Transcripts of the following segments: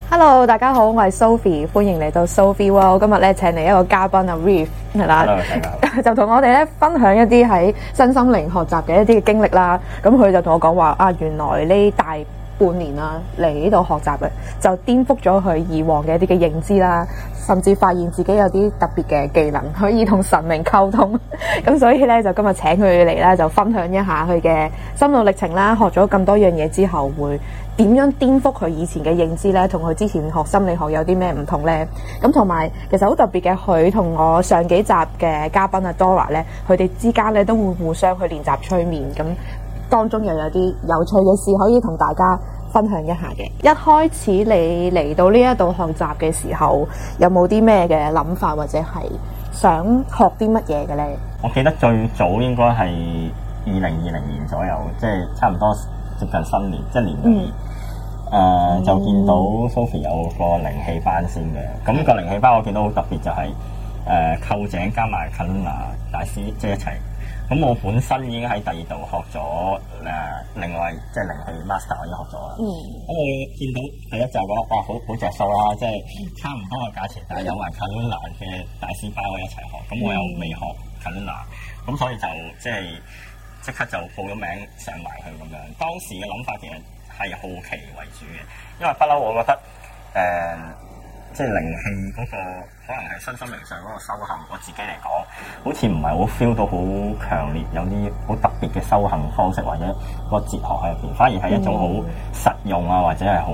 Hello，大家好，我係 Sophie，歡迎嚟到 Sophie World。今日咧請嚟一個嘉賓啊 Reef 係啦 Hello，大家好。 就同我哋咧分享一啲喺身心靈學習嘅一啲嘅經歷啦。咁佢就同我講話啊，原來呢大半年啦嚟呢度學習嘅，就顛覆咗佢以往嘅一啲嘅認知啦，甚至發現自己有啲特別嘅技能可以同神明溝通。咁所以咧就今日請佢嚟啦，就分享一下佢嘅心路歷程啦。學咗咁多樣嘢之後會點樣顛覆佢以前嘅認知呢？同佢之前學心理學有啲咩唔同呢？咁同埋其實好特別嘅，佢同我上幾集嘅嘉賓啊 Dora 呢，佢哋之間呢都會互相去練習催眠，咁當中又有啲有趣嘅事可以同大家分享一下嘅。一開始你嚟到呢一度學習嘅時候，有冇啲咩嘅諗法或者係想學啲乜嘢嘅呢？ 我記得最早應該係2020年左右，即係差唔多接近新年，即係年尾。就見到 Sophie 有個靈氣班先嘅，咁個靈氣班我見到好特別就係臼井加埋 Karuna 大師即係一齊。咁我本身已經喺第二度學咗另外即係靈氣 master 我已經學咗啦。咁我見到第一就覺得哇好着數啦，即係差唔多嘅價錢，但係有埋 Karuna 嘅大師班我一齊學。咁我又未學 Karuna，咁所以就即刻就報咗名上埋去咁樣。當時嘅諗法其實係好奇為主嘅，因為不嬲我覺得即係靈氣嗰個可能係身心靈上嗰個修行，我自己嚟講，好似唔係好 feel 到好強烈有啲好特別嘅修行方式或者個哲學喺入邊，反而係一種好實用啊，或者係好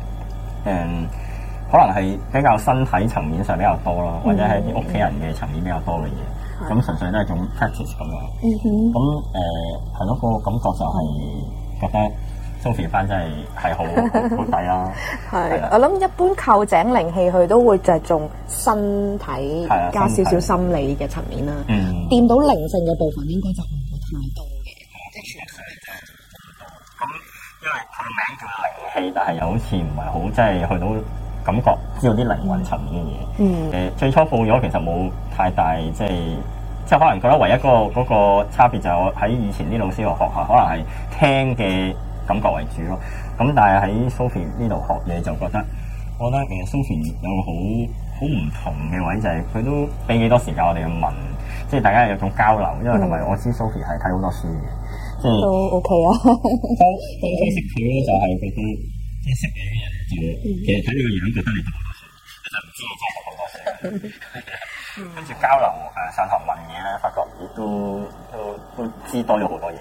可能係比較身體層面上比較多咯，或者係啲屋企人嘅層面比較多嘅嘢，咁純粹都係一種 practice 咁樣。咁係咯，個感覺就係覺得Sophie 班真係好抵啦。係， 我諗一般臼井靈氣佢都會着重身體加少少心理嘅層面啦。掂到靈性嘅部分應該就唔會太多嘅。即係全部真係咁，因為佢名叫靈氣，但係又好似唔係好即係去到感覺知道啲靈魂層面嘅嘢。最初報咗其實冇太大即係可能覺得唯一嗰個差別就係我喺以前啲老師個學校可能係聽嘅感覺為主咯，咁但係喺 Sophie 呢度學嘢就覺得，我覺得Sophie 有個好唔同嘅位就係佢都俾幾多時間我哋去問，即係大家有種交流，因為同埋我知 Sophie 係睇好多書嘅，即係都 OK 啊。 當初識佢咧就係覺得即係識你嘅人就其實睇你個樣覺得你讀好多書，其實唔知你真係讀好多書，跟住交流上堂問嘢咧，發覺都知多咗好多嘢。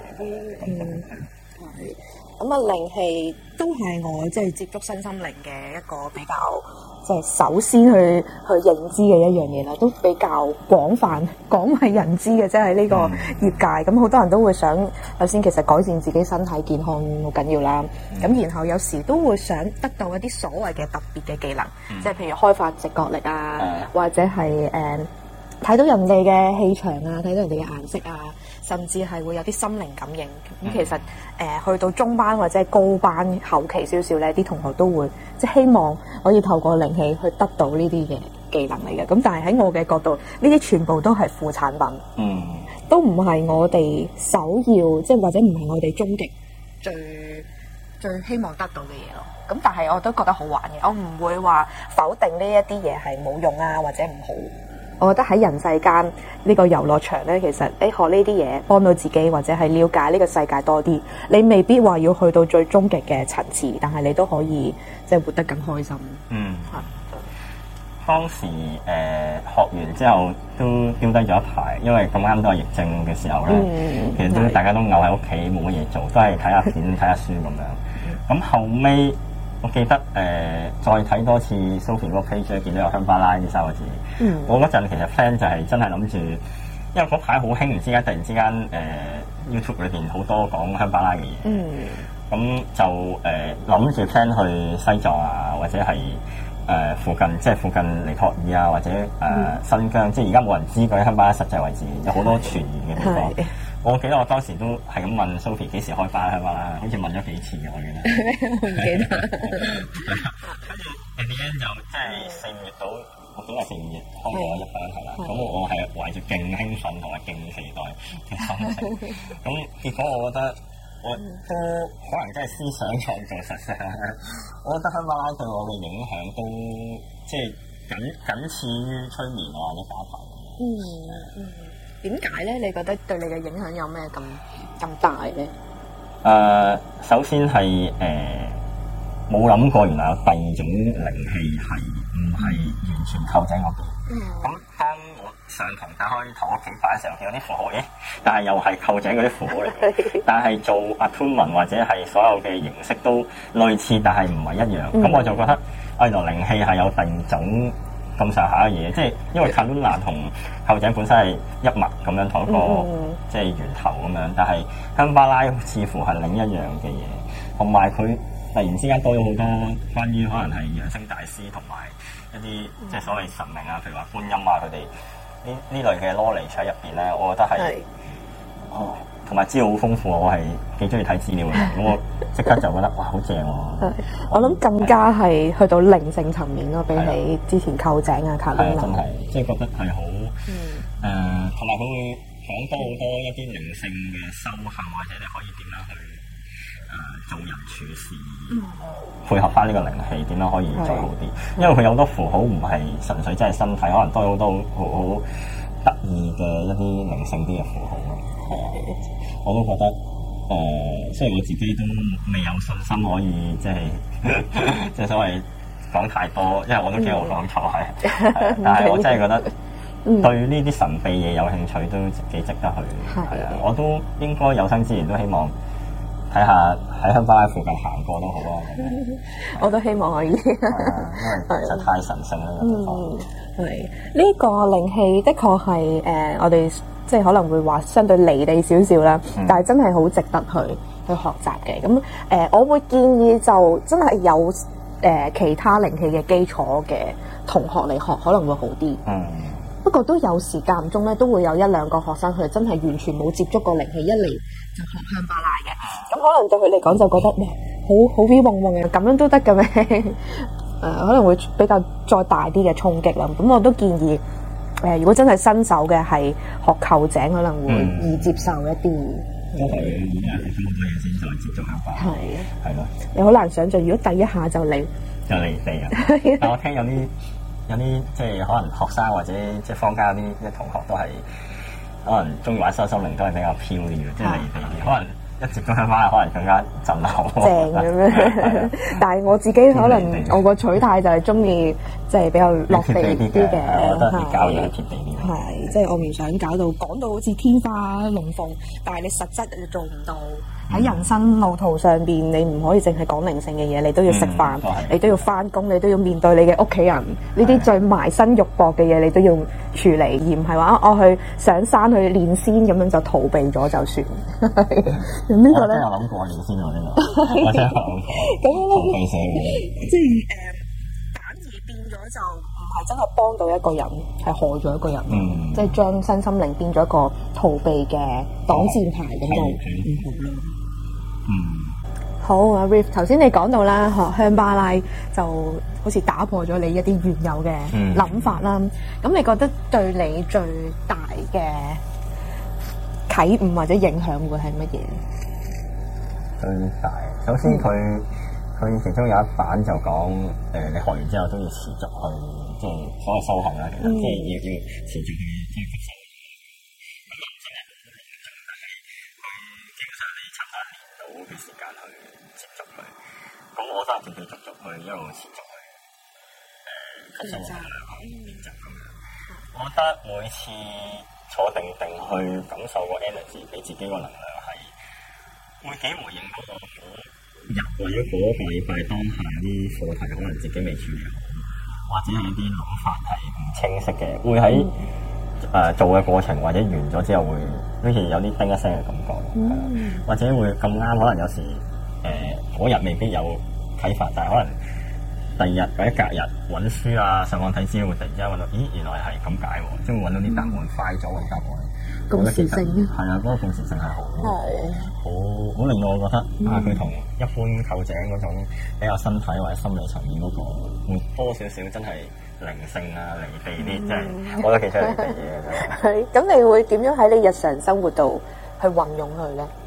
咁啊，靈氣都係我即係接觸身心靈嘅一個比較即係首先去認知嘅一樣嘢啦，都比較廣為人知嘅，即係呢個業界。咁好多人都會想首先其實改善自己身體健康好緊要啦。咁然後有時都會想得到一啲所謂嘅特別嘅技能，即係譬如開發直覺力啊，或者係睇到人哋嘅氣場啊，睇到人哋嘅顏色啊，甚至係會有啲心靈感應。咁其實去到中班或者係高班後期少少咧，啲同學都會即係希望可以透過靈氣去得到呢啲嘅技能嚟嘅。咁但係喺我嘅角度，呢啲全部都係副產品，都唔係我哋首要，即係或者唔係我哋終極最希望得到嘅嘢咯。咁但係我都覺得好玩嘅，我唔會話否定呢一啲嘢係冇用啊或者唔好。我覺得喺人世間呢個遊樂場咧，其實學呢啲嘢幫到自己，或者係了解呢個世界多啲。你未必話要去到最終極嘅層次，但係你都可以即係活得更開心。 當時學完之後都丟低咗一排，因為咁啱都係疫症嘅時候咧，其實都大家都漚喺屋企冇乜嘢做，都係睇下片睇下書咁樣。咁後尾我記得再睇多次 Sophie 嗰個 page 咧，見到有香巴拉呢3個字。我嗰陣其實 plan 就係真係諗住，因為嗰排好興，唔知點解突然之間YouTube 裏邊好多講香巴拉嘅嘢。咁就諗住 plan 去西藏啊，或者係附近尼泊爾啊，或者新疆，即係而家冇人知嗰啲香巴拉實際位置，有好多傳言嘅地方。我記得我當時都係咁問 Sophie 幾時開班香巴拉，好似問咗幾次嘅，我記得。 我唔記得。 跟住 Andy 就即係4月到，我記得係4、5月開咗一班係啦。咁我係懷住勁興奮同埋勁期待嘅心情。咁結果我覺得我都可能真係思想創造實相。我覺得香巴拉對我嘅影響都即係僅次於催眠或者加排。 點解咧？你覺得對你嘅影響有咩咁大咧？ 首先係冇諗過原來有第二種靈氣係唔係完全扣井嗰邊。咁當我上堂打開同屋企擺嘅時候，見到啲符號，但係又係扣井嗰啲符號嚟嘅。但係做 attunement 或者係所有嘅形式都類似，但係唔係一樣。咁我就覺得，原來靈氣係有第二種咁上下嘅嘢，即係因為 Karuna 同扣井本身係一脈咁樣同一個即係源頭咁樣，但係香巴拉似乎係另一樣嘅嘢，同埋佢突然之間多咗好多關於可能係揚升大師同埋一啲即係所謂神明啊，譬如話觀音啊，佢哋呢類嘅 knowledge 喺入邊咧，我覺得係同埋資料好豐富，我係幾中意睇資料嘅，咁我即刻就覺得哇好正喎！ 我諗更加係去到靈性層面咯，比起之前扣井啊、卡魯娜， 真係即係覺得係好同埋佢會講多好多一啲靈性嘅修行，或者你可以點樣去做人處事，配合翻呢個靈氣，點樣可以做好啲？因為佢有好多符號唔係純粹真係身體，可能都有好多好得意嘅一啲靈性啲嘅符號咯。我都覺得雖然我自己都未有信心可以即係所謂講太多，因為我都驚我講錯係，但係我真係覺得對呢啲神秘嘢有興趣都幾值得去。係啊，我都應該有生之年都希望睇下喺香巴拉附近行過都好啊！ 我都希望可以，因為實在太神聖啦呢個地方。 係呢個靈氣，的確係我哋即係可能會話相對離地少少啦，但係真係好值得去學習嘅。咁我會建議就真係有其他靈氣嘅基礎嘅同學嚟學，可能會好啲。不過都有時間唔中咧，都會有一兩個學生佢真係完全冇接觸過靈氣，一嚟就學香巴拉嘅。咁可能對佢嚟講就覺得哇，好 V 嗡嗡嘅，咁樣都得嘅咩？可能會比較再大啲嘅衝擊啦。咁我都建議如果真係新手嘅係學扣井，可能會易接受一啲。 都係要學好多嘢先再接觸香巴拉。係咯。 你好難想像，如果第一下就嚟地啊！但我聽有啲即係可能學生或者即係坊間啲同學都係可能中意玩身心靈都係比較飄啲嘅，即係離地啲。可能一接觸香巴拉可能更加震撼。 正咁樣，但係我自己可能我個取態就係中意即係比較落地啲嘅。 我覺得你教嘢係貼地啲。 係，即係我唔想搞到講到好似天花龍鳳，但係你實質就做唔到。喺人生路途上邊，你唔可以淨係講靈性嘅嘢，你都要食飯，你都要翻工，你都要面對你嘅屋企人，呢啲最埋身肉搏嘅嘢，你都要處理，而唔係話我去上山去練仙咁樣就逃避咗就算。咁呢個咧， 我諗過練仙喎呢個，我真係諗過。咁逃避社會， 即係反而變咗就唔係真係幫到一個人，係害咗一個人。即係將身心靈變咗一個逃避嘅擋箭牌咁就唔好咯。好啊 Riff， 頭先你講到啦，學香巴拉就好似打破咗你一啲原有嘅諗法啦。咁你覺得對你最大嘅啟悟或者影響會係乜嘢？ 最大，首先佢其中有一版就講你學完之後都要持續去即係所謂修行啦，其實即係要持續去即係吸收。嘅時間去接觸佢，咁我都係斷斷續續去一路持續去吸收能量練習咁樣。我覺得每次坐定定去感受個 energy 俾自己個能量係會幾回應嗰個日或者嗰個禮拜當下啲課題可能自己未處理好，或者有啲諗法係唔清晰嘅，會喺做嘅過程或者完咗之後會好似有啲叮一聲嘅感覺，或者會咁啱可能有時嗰日未必有啟發，但係可能第二日或者隔日揾書啊上網睇資料會突然之間揾到，咦原來係咁解喎，即係會揾到啲答案，快咗揾答案。 共時性係啊，嗰個共時性係好令到我覺得佢同一般扣井嗰種比較身體或者心理層面嗰個會多少少真係靈性啊離地啲，即係我覺得其實離地嘢。 係咁，你會點樣喺你日常生活度去運用佢咧？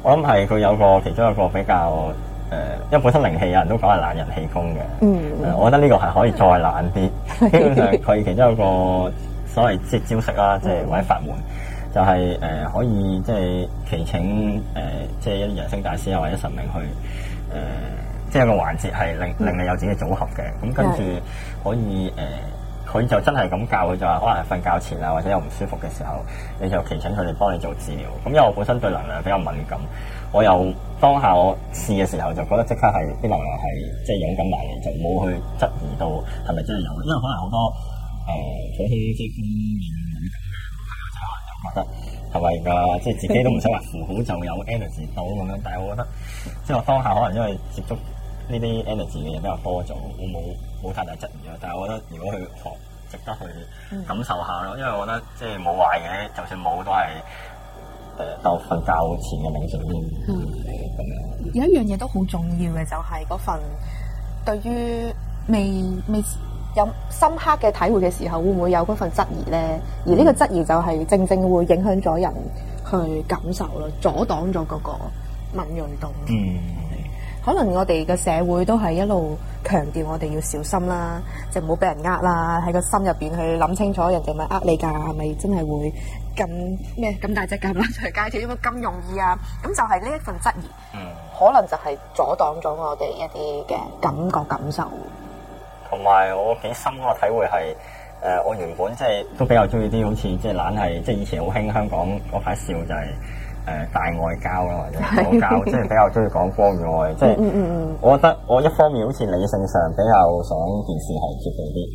我諗係佢有個其中一個比較因為本身靈氣有人都講係懶人氣功嘅，我覺得呢個係可以再懶啲。基本上佢其中有個所謂即係招式啦，即係或者法門，就係可以即係祈請即係一啲揚升大師啊或者神明去即係有個環節係令你有自己嘅組合嘅。咁跟住可以佢就真係咁教，佢就話可能係瞓覺前啊，或者有唔舒服嘅時候，你就祈請佢哋幫你做治療。咁因為我本身對能量比較敏感，我又當下我試嘅時候就覺得即刻係啲能量係即係湧緊埋嚟，就冇去質疑到係咪真係有。因為可能好多普通即係敏感嘅朋友就可能覺得係咪㗎？即係自己都唔使話符好就有 energy 到咁樣。但係我覺得即係我當下可能因為接觸呢啲 energy 嘅嘢比較多咗，我冇太大質疑咯。但係我覺得如果去學，值得去感受下咯。因為我覺得即係冇壞嘅，就算冇都係當瞓覺前嘅冥想咁樣。 有一樣嘢都好重要嘅，就係嗰份對於未有深刻嘅體會嘅時候，會唔會有嗰份質疑咧？而呢個質疑就係正正會影響咗人去感受咯，阻擋咗嗰個敏鋭度。可能我哋嘅社會都係一路強調我哋要小心啦，就唔好俾人呃啦，喺個心入邊去諗清楚人哋咪呃你㗎，係咪真係會咁大隻蛤乸隨街跳，點解咁容易啊？咁就係呢一份質疑，可能就係阻擋咗我哋一啲嘅感受。 同埋我幾深嗰個體會係我原本即係都比較中意啲好似即係懶係即係以前好興香港嗰排笑就係大愛交啦，或者左交，即係比較中意講光與愛。即係我覺得我一方面好似理性上比較想件事係貼地啲。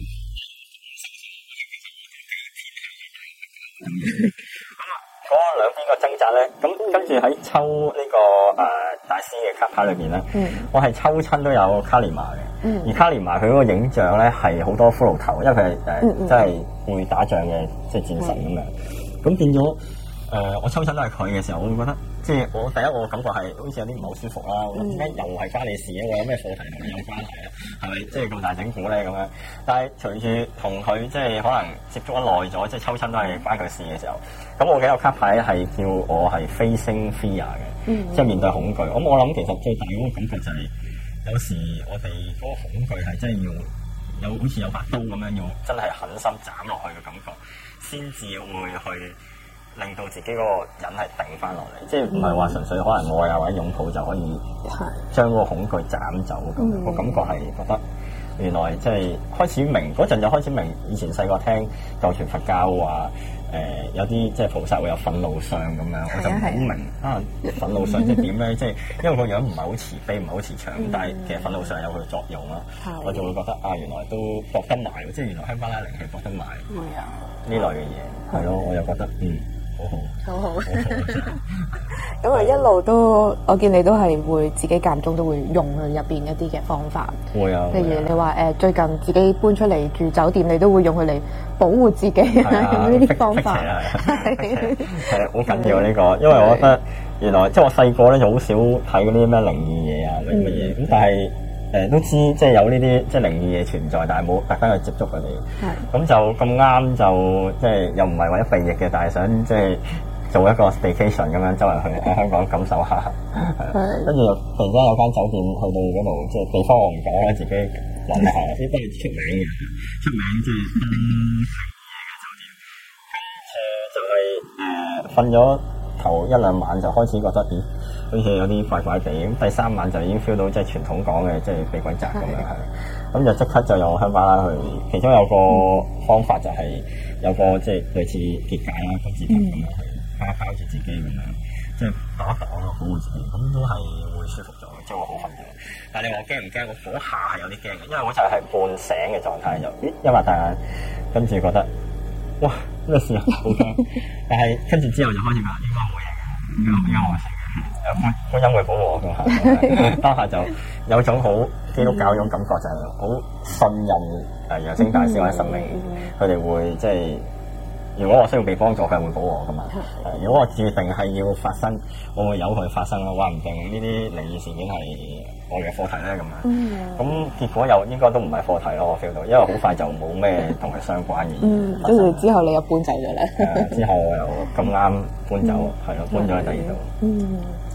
咁嗰兩邊個掙扎咧，咁跟住喺抽呢個大師嘅卡牌裏邊咧，我係抽親都有卡利瑪嘅，而卡利瑪佢嗰個影像咧係好多骷髏頭，因為佢係真係會打仗嘅即係戰神咁樣，咁變咗我抽親都係佢嘅時候，我會覺得即係我第一我感覺係好似有啲唔係好舒服啦，我諗點解又係關你事嘅？我有咩課題同你有關係咧？係咪即係咁大整蠱咧咁樣？但係隨住同佢即係可能接觸得耐咗，即係抽親都係關佢事嘅時候，咁我幾個卡牌係叫我係 facing fear 嘅，即係面對恐懼。咁我諗其實最大嗰個感覺就係有時我哋嗰個恐懼係真係要有好似有把刀咁樣，要真係狠心斬落去嘅感覺，先至會去令到自己嗰個人係定翻落嚟，即係唔係話純粹可能愛啊或者擁抱就可以將嗰個恐懼斬走咁。我感覺係覺得原來即係開始明嗰陣就開始明，以前細個聽舊傳佛教話有啲即係菩薩會有憤怒相咁樣，我就唔好明憤怒相即係點咧？即係因為個樣唔係好慈悲，唔係好慈祥，但係其實憤怒相有佢作用啦。我就會覺得原來都搏得埋，即係原來香巴拉靈氣搏得埋呢類嘅嘢，係咯，我又覺得好。 咁啊，一路都我見你都係會自己間中都會用佢入邊一啲嘅方法。 會啊， 譬如你話最近自己搬出嚟住酒店，你都會用佢嚟保護自己用呢啲方法。 係好緊要呢個，因為我覺得原來即係我細個咧就好少睇嗰啲咩靈異嘢啊，乜嘢咁，但係都知即係有呢啲即係靈異嘢存在，但係冇特登去接觸佢哋。咁就咁啱就即係又唔係為咗避疫嘅，但係想即係做一個 staycation 咁樣周圍去喺香港感受下。跟住突然間有間酒店去到嗰度，即係地方我唔講啦，自己諗下先，都係出名嘅，即係嘅酒店。就係瞓咗頭一兩晚就開始覺得好似有啲怪怪地，咁第三晚就已經 feel 到即係傳統講嘅即係被鬼責咁樣係，咁就即刻就用香巴拉去，其中有個方法就係有個即係類似結界啦、金字塔咁樣去包住自己咁樣，即係擋一擋咯，保護自己，咁都係會舒服咗，即係會好瞓咗。但係你話驚唔驚？我嗰下係有啲驚嘅，因為我就係半醒嘅狀態，就一擘大眼，跟住覺得哇咩事啊，好驚！但係跟住之後就開始話應該冇嘢嘅，應該冇事。觀音會保護我㗎，當下就有種好基督教嗰種感覺，就係好信任揚升大師或者神明，佢哋會即係如果我需要被幫助，佢係會保護我㗎嘛。如果我注定係要發生，我會由佢發生咯。話唔定呢啲靈異事件係我嘅課題咧咁樣。咁結果又應該都唔係課題咯，我 feel 到，因為好快就冇咩同佢相關嘅嘢。 跟住之後你又搬走咗啦。 之後我又咁啱搬走，係咯，搬咗去第二度。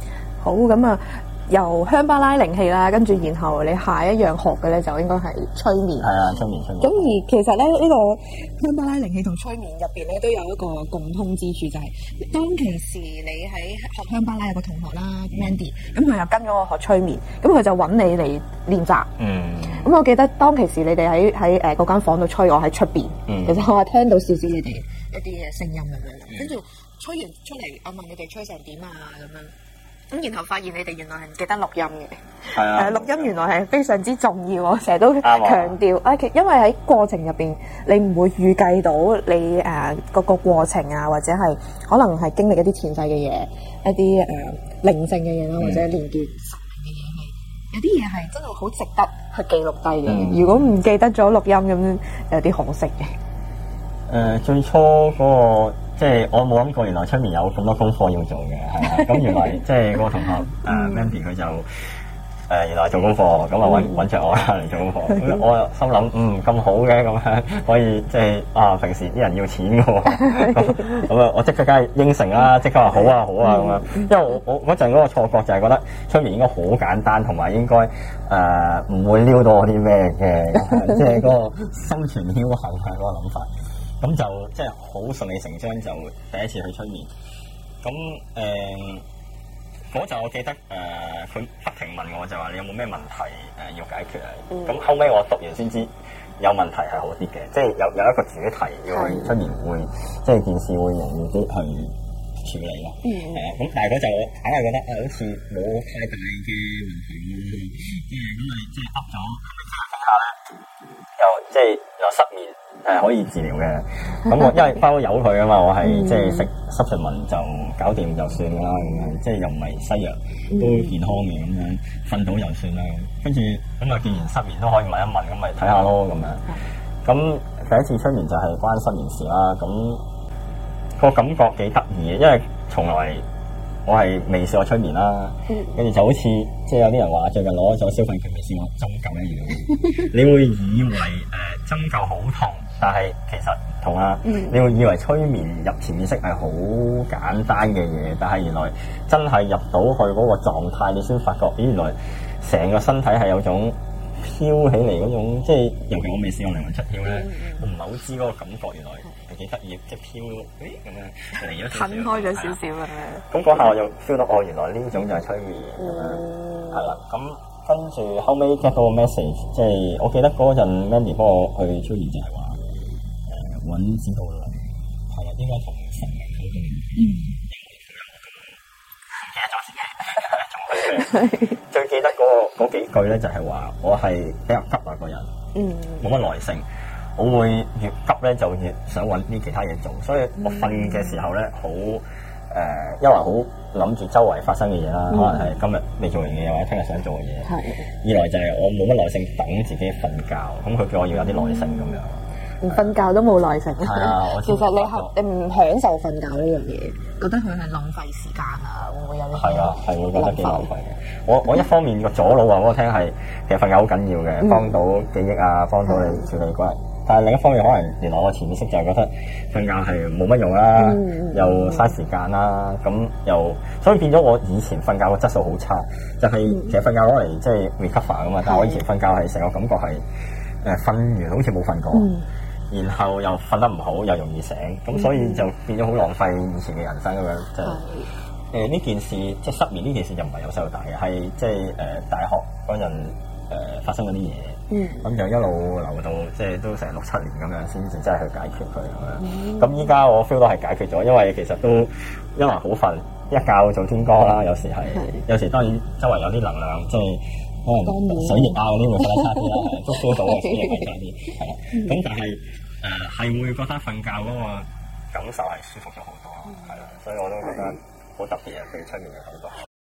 好咁啊，由香巴拉靈氣啦，跟住然後你下一樣學嘅咧就應該係催眠。 係啊，催眠。 咁而其實咧呢個香巴拉靈氣同催眠入邊咧都有一個共通之處，就係當其時你喺學香巴拉有個同學啦 Mandy， 咁佢又跟咗我學催眠，咁佢就揾你嚟練習。咁我記得當其時你哋喺嗰間房度吹，我喺出邊。其實我係聽到少少你哋一啲嘅聲音咁樣，跟住吹完出嚟，我問你哋吹成點啊咁樣。咁然後發現你哋原來係唔記得錄音嘅， 係啊， 錄音原來係非常之重要，我成日都強調，因為喺過程入邊，你唔會預計到你嗰個過程啊，或者係可能係經歷一啲前世嘅嘢，一啲靈性嘅嘢啦，或者連結神明嘅嘢，係有啲嘢係真係好值得去記錄低嘅。如果唔記得咗錄音咁，有啲可惜嘅。 最初嗰個。即係我冇諗過，原來出面有咁多功課要做嘅，係啊。咁原來即係嗰個同學Mandy 佢就原來做功課，咁啊揾著我啦嚟做功課。我又心諗咁好嘅，咁樣可以即係平時啲人要錢嘅喎，咁啊我即刻梗係應承啦，即刻話好啊咁樣。因為我嗰陣嗰個錯覺就係覺得出面應該好簡單，同埋應該唔會撩到我啲咩嘅，即係嗰個心存僥倖係嗰個諗法。咁就即係好順理成章，就第一次去催眠。咁嗰陣我記得佢不停問我，就話你有冇咩問題要解決啊？咁後尾我讀完先知有問題係好啲嘅，即係有一個主題要去催眠會，即係件事會容易啲去處理咯。咁但係嗰陣我硬係覺得好似冇太大嘅問題咁咪即係噏咗，傾下咧，又失眠。可以治療嘅，咁我因為包有佢啊嘛，我係即係食濕順文就搞掂就算啦，咁樣即係又唔係西藥，都健康嘅咁樣，瞓到就算啦。跟住咁啊，既然失眠都可以問一問，咁咪睇下咯咁樣。咁第一次催眠就係關失眠事啦，咁個感覺幾得意嘅，因為從來我係未試過催眠啦，跟住就好似即係有啲人話最近攞咗消費券未試過針灸一樣，你會以為針灸好痛。但係其實唔同啦，你會以為催眠入潛意識係好簡單嘅嘢，但係原來真係入到去嗰個狀態，你先發覺，咦，原來成個身體係有種飄起嚟嗰種，即係尤其我未試過靈魂出竅咧，我唔係好知嗰個感覺，原來係幾得意，即係飄咁樣嚟咗少少，褪開咗少少咁樣。咁嗰下我就 feel 到，原來呢種就係催眠咁樣，係啦。咁跟住後尾 get 到個 message，即係我記得嗰陣 Mandy 幫我去催眠就係話。揾指導啦，係啊，應該同神明溝通。唔記得咗自己，最記得嗰幾句咧，就係話我係比較急啊個人，冇乜耐性。我會越急咧，就越想揾啲其他嘢做，所以我瞓嘅時候咧，好因為好諗住周圍發生嘅嘢啦，可能係今日未做完嘅嘢，或者聽日想做嘅嘢。二來就係我冇乜耐性等自己瞓覺，咁佢叫我要有啲耐性咁樣。瞓覺都冇耐性。其實你唔享受瞓覺呢樣嘢，覺得佢係浪費時間啊？會唔會有啲？係啊，係會覺得幾浪費嘅。我一方面個左腦話俾我聽係，其實瞓覺好緊要嘅，幫到記憶啊，幫到你處理關係。但係另一方面，可能原來我潛意識就係覺得瞓覺係冇乜用啦，又嘥時間啦，咁又所以變咗我以前瞓覺個質素好差，就係其實瞓覺攞嚟即係 recover 噶嘛，但係我以前瞓覺係成個感覺係瞓完好似冇瞓過。然後又瞓得唔好，又容易醒，咁所以就變咗好浪費以前嘅人生咁樣。就呢件事，即係失眠呢件事就唔係由細到大嘅，係即係大學嗰陣發生嗰啲嘢，咁就一路留到即係都成6-7年咁樣，先至真係去解決佢咁樣。咁依家我 feel 到係解決咗，因為其實都因為好瞓，一覺做天光啦，有時當然周圍有啲能量，即係。可能水液啊嗰啲會覺得差啲啦，都 feel 到嘅水液係差啲，係啦。咁但係係會覺得瞓覺嗰個感受係舒服咗好多，係啦，所以我都覺得好特別嘅，對催眠嘅感覺。